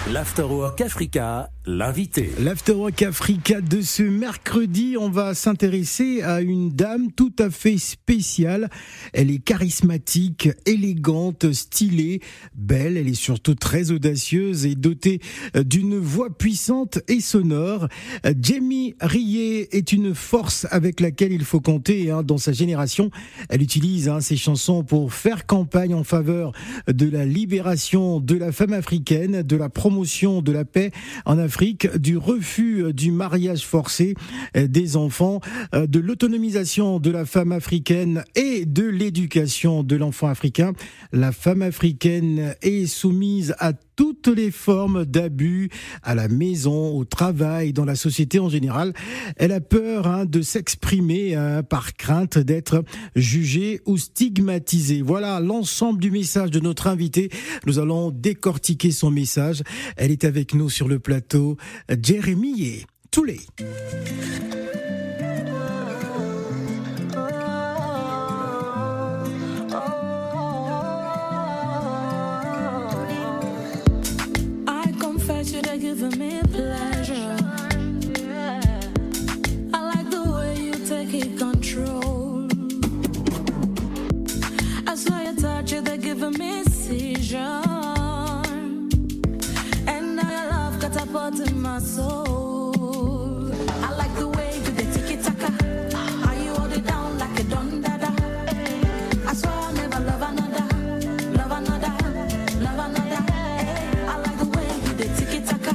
L'Afterwork Africa, l'invité. L'Afterwork Africa de ce mercredi, on va s'intéresser à une dame tout à fait spéciale. Elle est charismatique, élégante, stylée, belle. Elle est surtout très audacieuse et dotée d'une voix puissante et sonore. Jamie Rié est une force avec laquelle il faut compter dans sa génération. Elle utilise ses chansons pour faire campagne en faveur de la libération de la femme africaine, de la promotion de la paix en Afrique, du refus du mariage forcé des enfants, de l'autonomisation de la femme africaine et de l'éducation de l'enfant africain. La femme africaine est soumise à toutes les formes d'abus à la maison, au travail, dans la société en général. Elle a peur de s'exprimer par crainte d'être jugée ou stigmatisée. Voilà l'ensemble du message de notre invitée. Nous allons décortiquer son message. Elle est avec nous sur le plateau, Jérémie Toulé. Giving me pleasure. I like the way you take it control. I saw your touch, they're giving me seizure. And now your love catapulting my soul. I like the way you take it taka. How you hold it down like a don dada. I swear I'll never love another, love another, love another. I like the way you take it taka.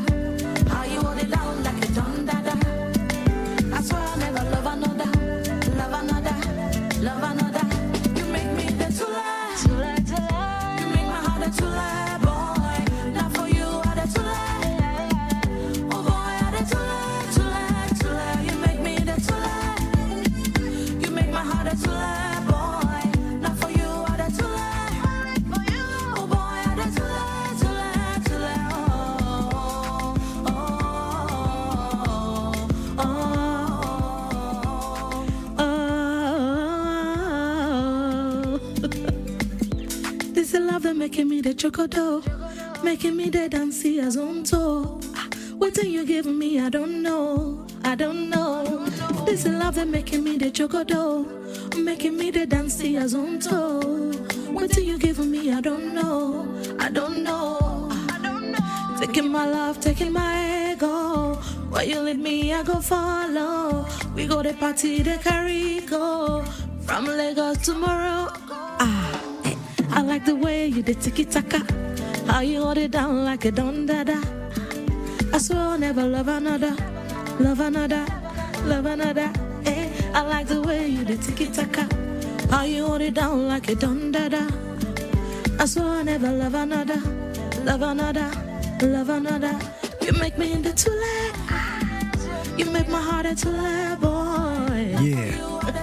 Making me the chocodo, making me the dancey as on toe. What are you giving me? I don't know, I don't know. This is love that making me the chocodo, making me the dancey as on toe. What are you giving me? I don't know, I don't know. Taking my love, taking my ego. Where you lead me, I go follow. We go to party, the Carico, from Lagos to Morocco. I like the way you did tiki-taka. How you hold it down like a don dada. I swear I'll never love another, love another, love another. I like the way you did tiki-taka. How you hold it down like a don dada. I swear I'll never love another, love another, love another. You make me into Tule. You make my heart a Tule boy. Yeah.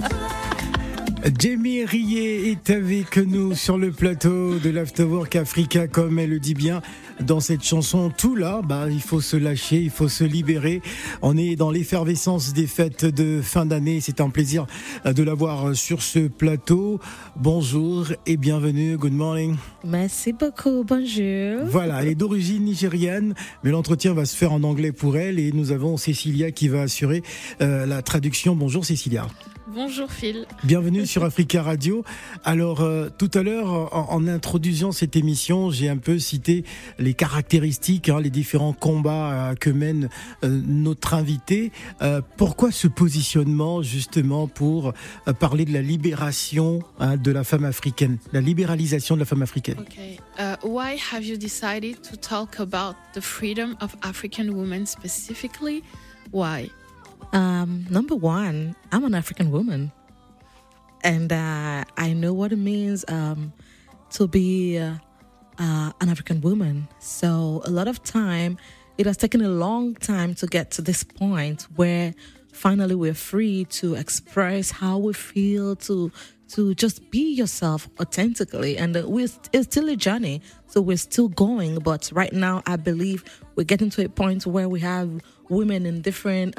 Jamie Rié est avec nous sur le plateau de l'Afterwork Africa, comme elle le dit bien dans cette chanson. Tout là, il faut se lâcher, il faut se libérer. On est dans l'effervescence des fêtes de fin d'année. C'est un plaisir de l'avoir sur ce plateau. Bonjour et bienvenue. Good morning. Merci beaucoup. Bonjour. Voilà, elle est d'origine nigériane, mais l'entretien va se faire en anglais pour elle et nous avons Cécilia qui va assurer la traduction. Bonjour Cécilia. Bonjour Phil. Bienvenue sur Africa Radio. Alors tout à l'heure, en introduisant cette émission, j'ai un peu cité les caractéristiques, les différents combats que mène notre invité. Pourquoi ce positionnement justement pour parler de la libération de la femme africaine, la libéralisation de la femme africaine? Okay. Why have you decided to talk about the freedom of African women specifically? Why? Number one, I'm an African woman, and I know what it means to be an African woman. So a lot of time, it has taken a long time to get to this point where finally we're free to express how we feel, to just be yourself authentically. And it's still a journey, so we're still going. But right now, I believe we're getting to a point where we have women in different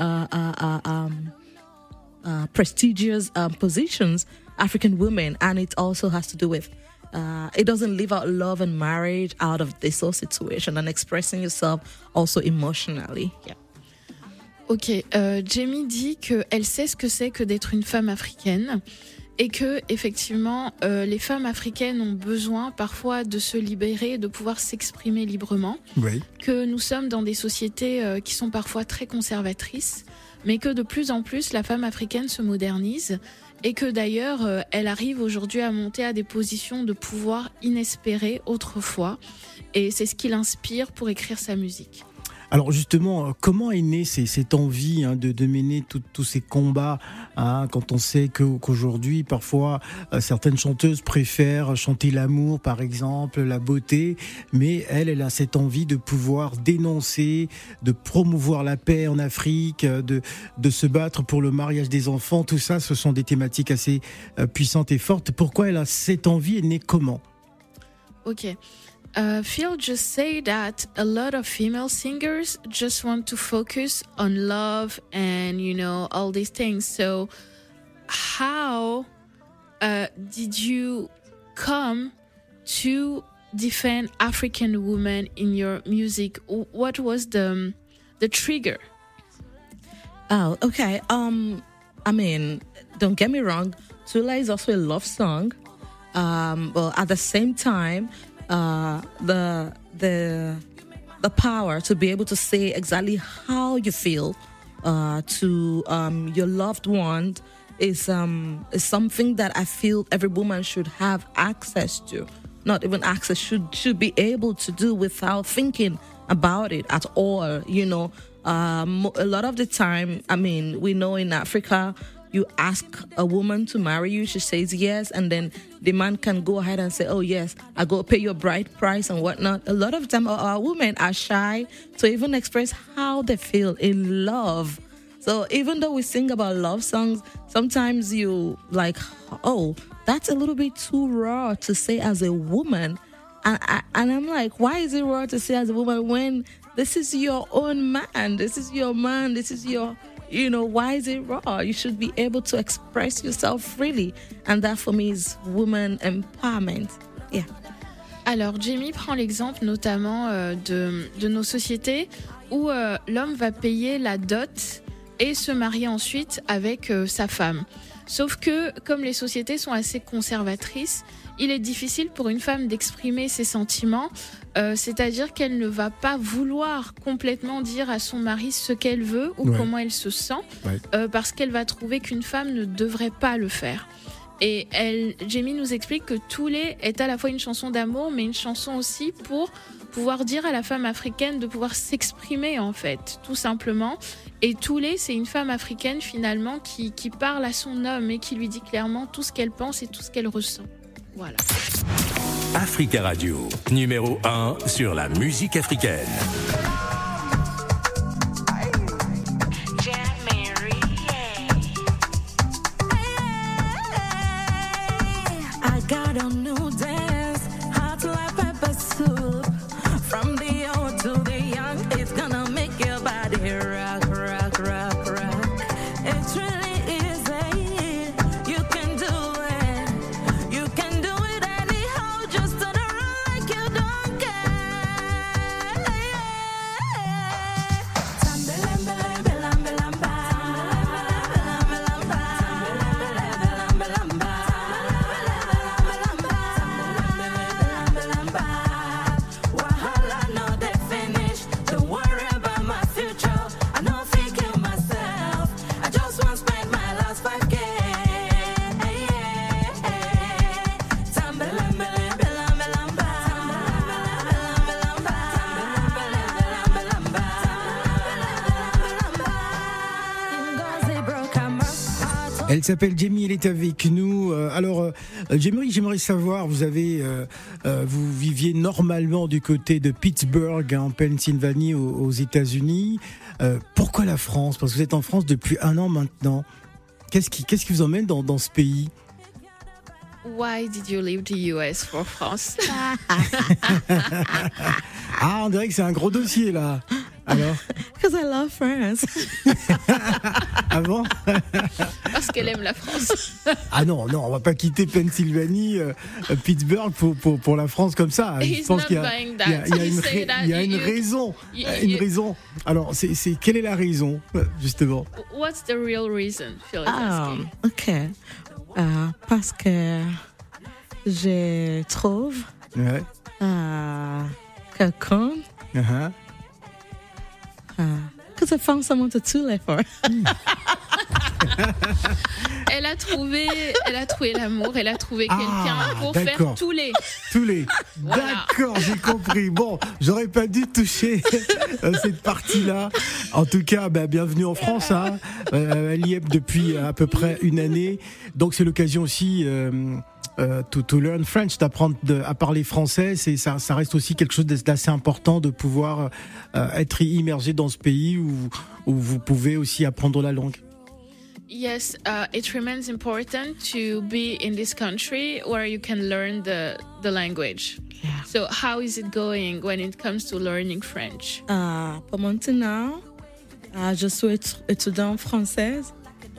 prestigious positions, African women, and it also has to do with it doesn't leave out love and marriage out of this whole situation and expressing yourself also emotionally. Yeah. Ok, Jamie dit qu'elle sait ce que c'est que d'être une femme africaine et que effectivement les femmes africaines ont besoin parfois de se libérer, de pouvoir s'exprimer librement, Oui. que nous sommes dans des sociétés qui sont parfois très conservatrices, mais que de plus en plus la femme africaine se modernise et que d'ailleurs elle arrive aujourd'hui à monter à des positions de pouvoir inespérées autrefois, et c'est ce qui l'inspire pour écrire sa musique. Alors justement, comment est née cette envie de mener tous ces combats quand on sait qu'aujourd'hui, parfois, certaines chanteuses préfèrent chanter l'amour, par exemple, la beauté, mais elle a cette envie de pouvoir dénoncer, de promouvoir la paix en Afrique, de se battre pour le mariage des enfants. Tout ça, ce sont des thématiques assez puissantes et fortes. Pourquoi elle a cette envie? Elle est née comment? Ok. Phil just say that a lot of female singers just want to focus on love and, all these things. So how did you come to defend African women in your music? What was the trigger? Oh, okay. I mean, don't get me wrong, Tula is also a love song. But at the same time, the power to be able to say exactly how you feel to your loved one is something that I feel every woman should have access to. Not even access, should be able to do without thinking about it at all. A lot of the time, I mean, we know in Africa, you ask a woman to marry you, she says yes, and then the man can go ahead and say, oh yes, I go pay your bride price and whatnot. A lot of time our women are shy to even express how they feel in love. So even though we sing about love songs, sometimes you like, oh, that's a little bit too raw to say as a woman. And I'm like, why is it raw to say as a woman when this is your own man, this is your man, this is your... why is it raw? You should be able to express yourself freely. And that for me is woman empowerment. Yeah. Alors, Jamie prend l'exemple notamment de nos sociétés où l'homme va payer la dot et se marier ensuite avec sa femme. Sauf que, comme les sociétés sont assez conservatrices, il est difficile pour une femme d'exprimer ses sentiments, c'est-à-dire qu'elle ne va pas vouloir complètement dire à son mari ce qu'elle veut ou comment elle se sent, parce qu'elle va trouver qu'une femme ne devrait pas le faire. Et Jamie nous explique que Toulé est à la fois une chanson d'amour, mais une chanson aussi pour pouvoir dire à la femme africaine de pouvoir s'exprimer, en fait, tout simplement. Et Toulé, c'est une femme africaine, finalement, qui parle à son homme et qui lui dit clairement tout ce qu'elle pense et tout ce qu'elle ressent. Voilà. Africa Radio, numéro 1 sur la musique africaine. I got a new dance, hot like pepper soup. From the old to the young, it's gonna make your body rock, rock, rock, rock. It's really easy, you can do it. You can do it anyhow, just turn around like you don't care. Tambelambelambelambelambe. Wahala no dey finish. Don't worry about my future. I no fit kill myself. I just want spend my last 5K. Ngozi broke her heart. Elle s'appelle Jamie, elle est avec nous. Alors, Jamie, j'aimerais savoir, vous viviez normalement du côté de Pittsburgh, en Pennsylvanie, aux États-Unis. Pourquoi la France? Parce que vous êtes en France depuis 1 an maintenant. Qu'est-ce qui vous emmène dans ce pays? Why did you leave the US for France? Ah, on dirait que c'est un gros dossier là. Alors? Because I love France. Ah bon? Parce qu'elle aime la France. Ah non, on va pas quitter Pennsylvanie, Pittsburgh pour la France comme ça. Je He's pense not qu'il y a, buying il y a- that. il y a He une, say that il y a une you- raison. you- Une you- raison. Alors, quelle est la raison, justement? What's the real reason, Phil is asking? OK. Parce que je trouve Ouais. quelqu'un Uh-huh. que je found someone to tule for. Elle a trouvé l'amour, elle a trouvé quelqu'un pour d'accord. faire tous les. Tous les. Voilà. D'accord, j'ai compris. Bon, j'aurais pas dû toucher cette partie-là. En tout cas, bienvenue en France. Hein. Elle y est depuis à peu près une année. Donc c'est l'occasion aussi to learn French, d'apprendre à parler français. Ça reste aussi quelque chose d'assez important de pouvoir être immergé dans ce pays où vous pouvez aussi apprendre la langue. Yes, it remains important to be in this country where you can learn the language. Yeah. So how is it going when it comes to learning French? Pour maintenant, je suis étudiante française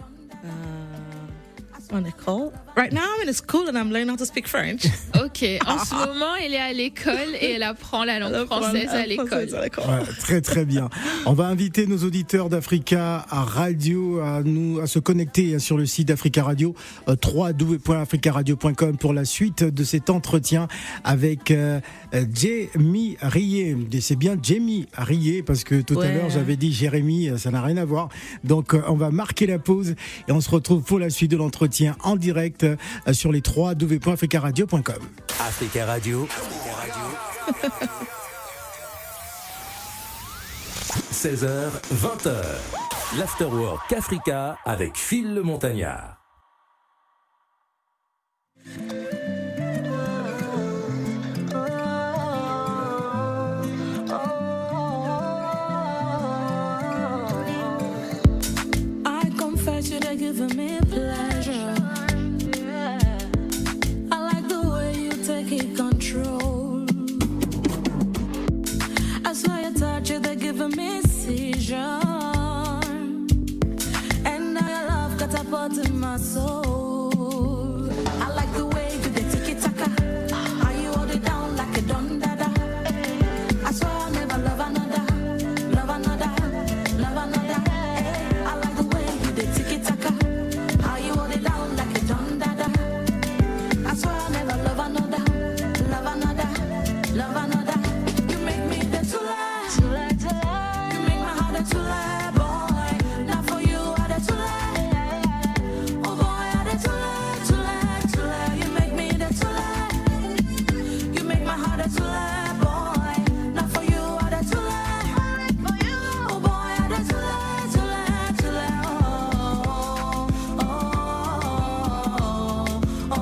en école. Right now, I'm in a school and I'm learning how to speak French. Ok, en ce moment, elle est à l'école et elle apprend la langue française à l'école. Ouais, très très bien. On va inviter nos auditeurs d'Africa Radio à se connecter sur le site d'Africa Radio, www.africaradio.com pour la suite de cet entretien avec Jamie Rié. Et c'est bien Jamie Rié parce que tout à l'heure j'avais dit Jérémy, ça n'a rien à voir. Donc on va marquer la pause et on se retrouve pour la suite de l'entretien en direct sur les www.africaradio.com. Africa Radio. 16h, 20h. L'Afterwork Africa avec Phil le Montagnard. I confess you they're giving me pleasure. I like the way you take it control. I swear you touch it, they're giving me seizure. And now your love catapulting my soul. I like the way you dey take it taka. How you hold it down like a don dada. I swear I'll never love another, love another, love another. I like the way you dey take it taka. How you hold it down like a don dada. I swear I'll never love another, love another, love another. You make me the tula, tula, tula. You make my heart a tula, boy. Not for you, I the tula. Oh boy, I the tula, tula, tula. You make me the tula. You make my heart a tula, boy. Not for you, I the tula. Oh boy, I the tula, tula, tula. Oh, oh, oh,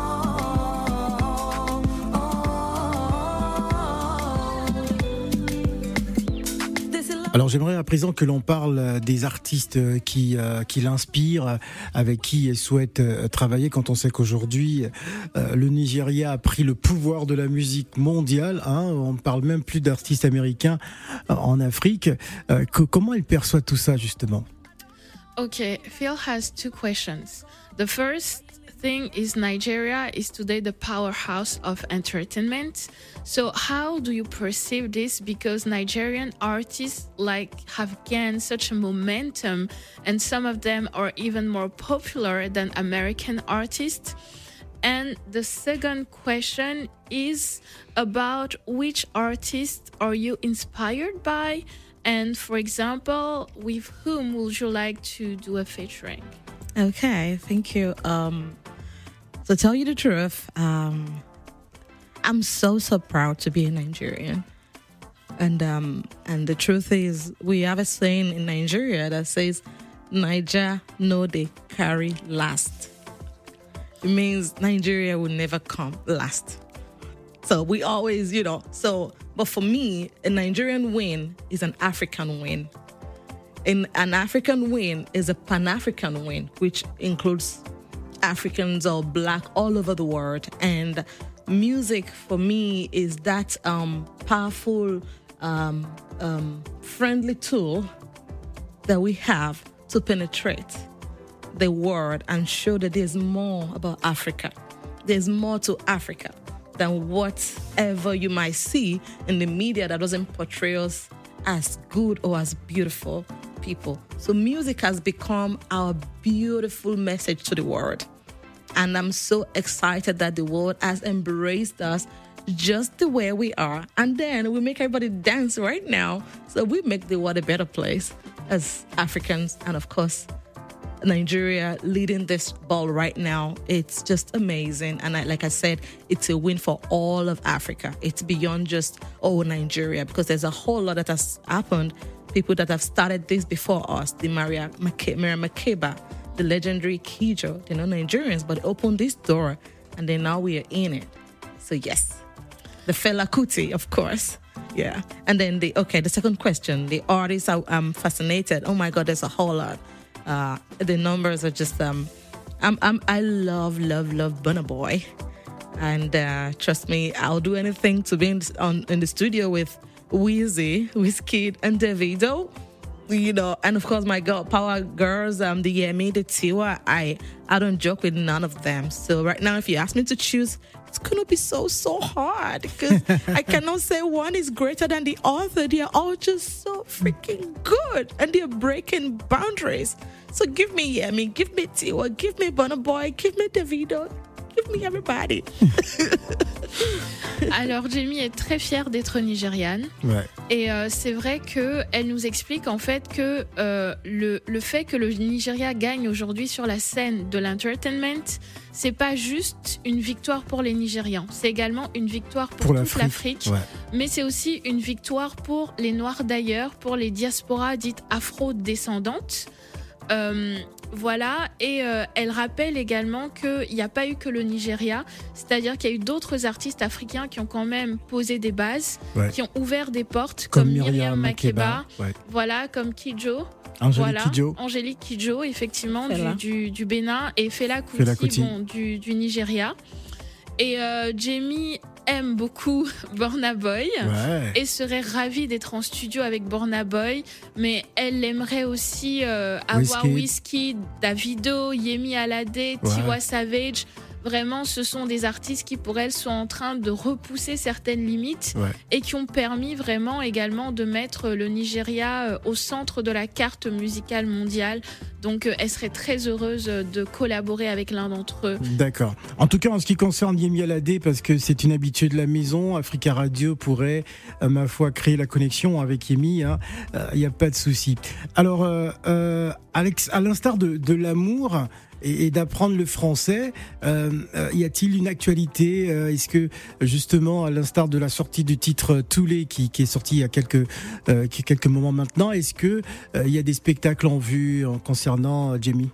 oh. This is love. Alors j'aimerais à présent que l'on parle des artistes qui l'inspirent, avec qui elle souhaite travailler, quand on sait qu'aujourd'hui le Nigeria a pris le pouvoir de la musique mondiale. Hein, on ne parle même plus d'artistes américains en Afrique. Comment elle perçoit tout ça justement? Okay, Phil has two questions. The first thing is Nigeria is today the powerhouse of entertainment. So how do you perceive this? Because Nigerian artists have gained such a momentum, and some of them are even more popular than American artists. And the second question is about which artists are you inspired by? And for example, with whom would you like to do a featuring? Okay, thank you. To tell you the truth, I'm so proud to be a Nigerian. And the truth is, we have a saying in Nigeria that says, Niger no they carry last. It means Nigeria will never come last. So we always, but for me, a Nigerian win is an African win. And an African win is a Pan-African win, which includes Africans or Black all over the world. And music for me is that powerful friendly tool that we have to penetrate the world and show that there's more about Africa. There's more to Africa than whatever you might see in the media that doesn't portray us as good or as beautiful people. So music has become our beautiful message to the world. And I'm so excited that the world has embraced us just the way we are. And then we make everybody dance right now. So we make the world a better place as Africans. And of course, Nigeria leading this ball right now. It's just amazing. And like I said, it's a win for all of Africa. It's beyond just, Nigeria, because there's a whole lot that has happened. People that have started this before us, the Miriam Makeba, the legendary Kijo, they're not Nigerians, but they opened this door and then now we are in it. So yes, the Fela Kuti, of course. Yeah. And then the second question, the artists I'm fascinated. Oh my God, there's a whole lot. The numbers are just, I love Burna Boy. And trust me, I'll do anything to be in the studio with Wheezy, Wizkid, and Davido. And of course my girl power girls, the Yemi, the Tiwa. I don't joke with none of them. So right now, if you ask me to choose, it's gonna be so hard because I cannot say one is greater than the other. They are all just so freaking good, and they're breaking boundaries. So give me Yemi, give me Tiwa, give me Burna Boy, give me Davido, give me everybody. Alors Jamie est très fière d'être nigériane. Ouais. Et c'est vrai qu'elle nous explique en fait que le fait que le Nigeria gagne aujourd'hui sur la scène de l'entertainment, c'est pas juste une victoire pour les Nigérians, c'est également une victoire pour toute l'Afrique, ouais. Mais c'est aussi une victoire pour les Noirs d'ailleurs, pour les diasporas dites afro-descendantes. Voilà, et elle rappelle également qu'il n'y a pas eu que le Nigeria, c'est-à-dire qu'il y a eu d'autres artistes africains qui ont quand même posé des bases, ouais. Qui ont ouvert des portes, comme Miriam Makeba, ouais. Voilà, comme Kijo. Angélique Kijo, effectivement, du Bénin, et Fela Kuti. Du Nigeria. Et Jamie aime beaucoup Burna Boy, ouais. Et serait ravie d'être en studio avec Burna Boy, mais elle aimerait aussi avoir Wizkid, Davido, Yemi Alade, ouais. Tiwa Savage. Vraiment, ce sont des artistes qui, pour elle, sont en train de repousser certaines limites, ouais. Et qui ont permis vraiment également de mettre le Nigeria au centre de la carte musicale mondiale. Donc, elle serait très heureuse de collaborer avec l'un d'entre eux. D'accord. En tout cas, en ce qui concerne Yemi Alade, parce que c'est une habituée de la maison, Africa Radio pourrait, ma foi, créer la connexion avec Yemi. Il n'y a pas de souci. Alors, Alex, à l'instar de l'amour et d'apprendre le français, y a-t-il une actualité? Est-ce que, justement, à l'instar de la sortie du titre Toulé qui est sorti il y a quelques moments maintenant, est-ce que il y a des spectacles en vue concernant Jamie?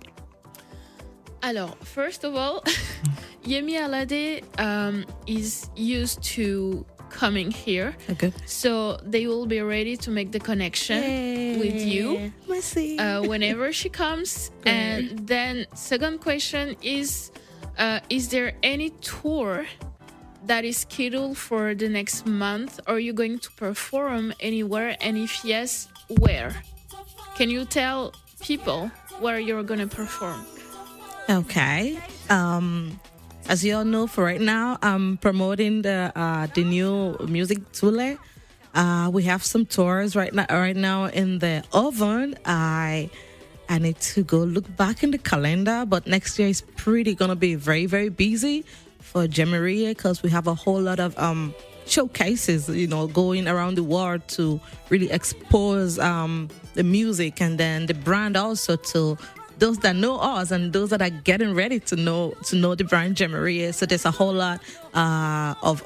Alors, first of all, Yemi Alade is used to coming here. Okay. So they will be ready to make the connection with you whenever she comes. And then second question is there any tour that is scheduled for the next month? Are you going to perform anywhere? And if yes, where? Can you tell people where you're going to perform? Okay. As you all know, for right now, I'm promoting the new music Tule. We have some tours right now in the oven. I need to go look back in the calendar, but next year is pretty gonna be very, very busy for Jemaria because we have a whole lot of showcases, going around the world to really expose the music and then the brand also to those that know us and those that are getting ready to know the brand Jemaria. So there's a whole lot of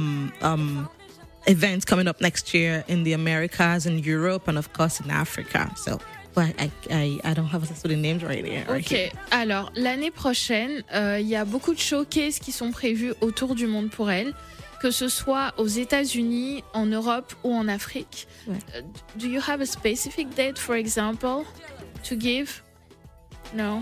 events coming up next year in the Americas, in Europe, and of course in Africa. So, but I don't have the names right here. Ok. Alors l'année prochaine, il y a beaucoup de showcases qui sont prévus autour du monde pour elle, que ce soit aux États-Unis, en Europe ou en Afrique. Ouais. Do you have a specific date, for example, to give? Non.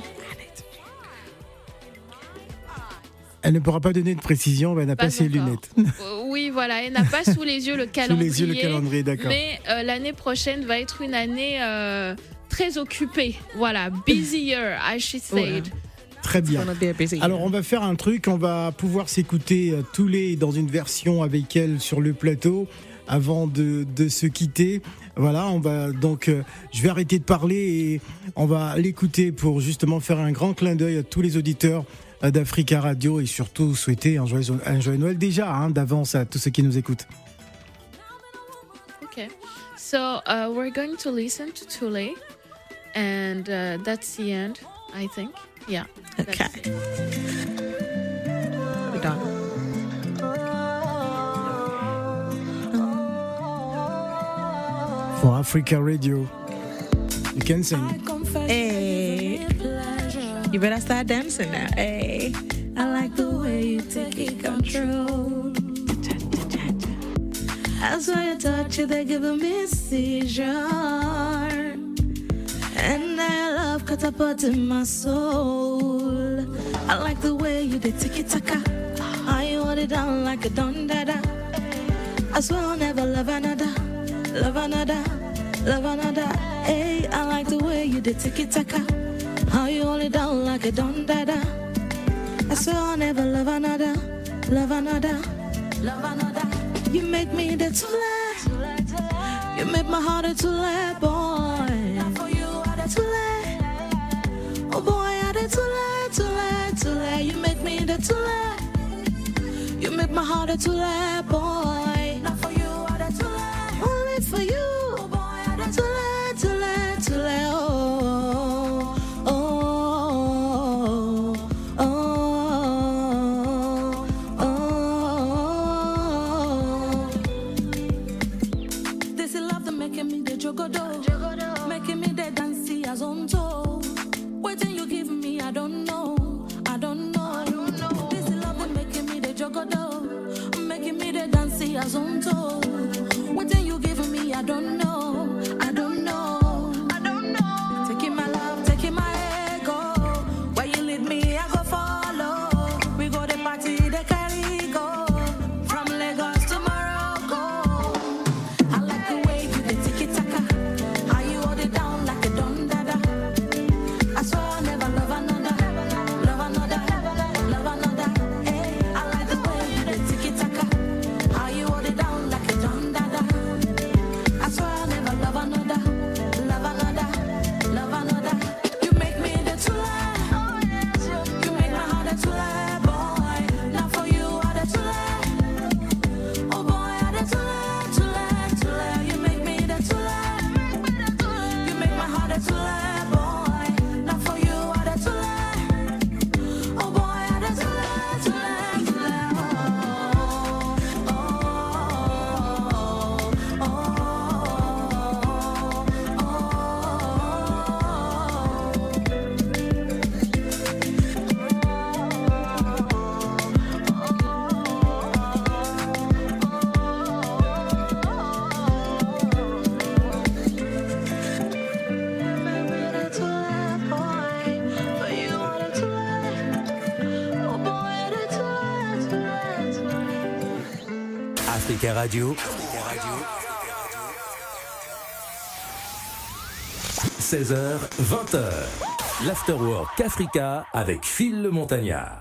Elle ne pourra pas donner de précision, elle n'a pas ses lunettes. Oui, Oui, voilà, elle n'a pas sous les yeux le calendrier. Sous les yeux le calendrier, d'accord. Mais l'année prochaine va être une année très occupée. Voilà, busy year, I should say. Très bien. Alors on va faire un truc, on va pouvoir s'écouter tous les dans une version avec elle sur le plateau avant de se quitter. Voilà, on va donc je vais arrêter de parler et on va l'écouter pour justement faire un grand clin d'œil à tous les auditeurs d'Africa Radio et surtout souhaiter un joyeux Noël déjà d'avance à tous ceux qui nous écoutent. Okay. So we're going to listen to Tule and that's the end, I think. Yeah. Okay. We're done. For Africa Radio, you can sing. Hey, you better start dancing now. Hey, I like the way you take control. I saw your touch, they're giving me a seizure. And I love catapulting my soul. I like the way you did tiki-taka. I hold it down like a don-dada. I swear I'll never love another. Love another, love another. Hey, I like the way you did tiki-taka. How you hold it down like a don-dada. I swear I'll never love another. Love another, love another. You make me the tule. You make my heart a tule, boy. Now for you I the tule. Oh boy, I the tule, tule, tule. You make me the tule. You make my heart a tule, boy. Now for you I the tule. Only for you, oh boy, I the tule, tule, tule. Oh, oh, oh, oh, oh. This is love that making me the jogodo, making me the dancey as on toe. Waiting you give me, I don't know, I don't know. This is love that making me the jogodo, making me the dancey as on toe. Waiting you give me, I don't know, I don't know, I don't know. Taking my love, taking my ego. Where you lead me, I go follow. We go to party, the carry go. From Lagos to Morocco. I like the way you did tiki-taka. How you hold it down like a don-dada. I swear I'll never love another. Love another, love another. Hey, I like the way you did tiki-taka. How you hold it down like a don-dada. I swear I'll never love another. Love another, love another. You make me the tule. You make my heart a tule, boy. Now for you I the tule. Oh boy, I the tule, tule, tule. You make me the tule. You make my heart a tule, boy. Now for you I the tule. Oh boy, I the tule, tule, tule. Oh, oh, oh, oh. Africa Radio. 16h, 20h. L'Afterwork Africa avec Phil le Montagnard.